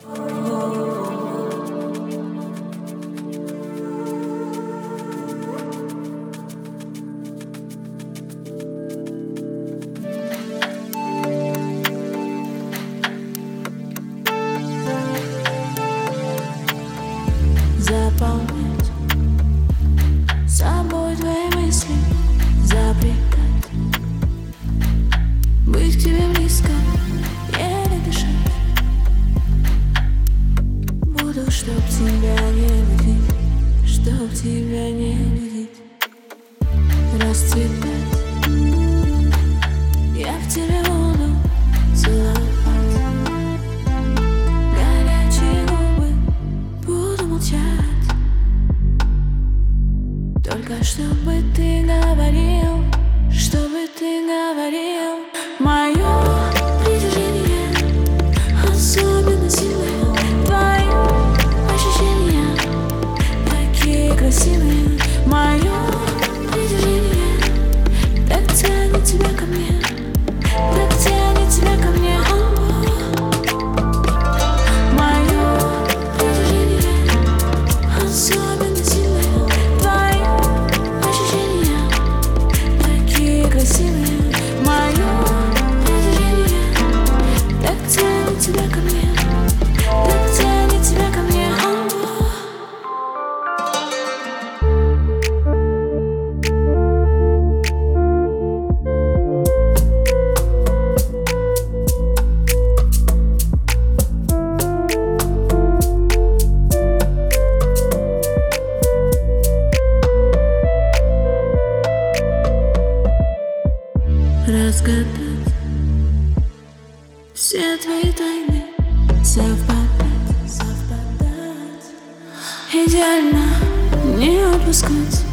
Заполнять собой твои мысли, запретать быть к тебе близко, еле дышать. Буду, чтоб тебя не будить, чтоб тебя не будить, расцветать. Я в тебе буду целовать. Только чтобы ты говорил, чтобы ты говорил. Мое притяжение особенно сильное, твои ощущения такие красивые. Мое притяжение так тянет тебя ко мне, так тянет тебя ко мне. Мое притяжение особенно сильное, тебя ко мне, так тянет тебя ко мне. Разгадать все твои тайны, совпадать, идеально не упускать.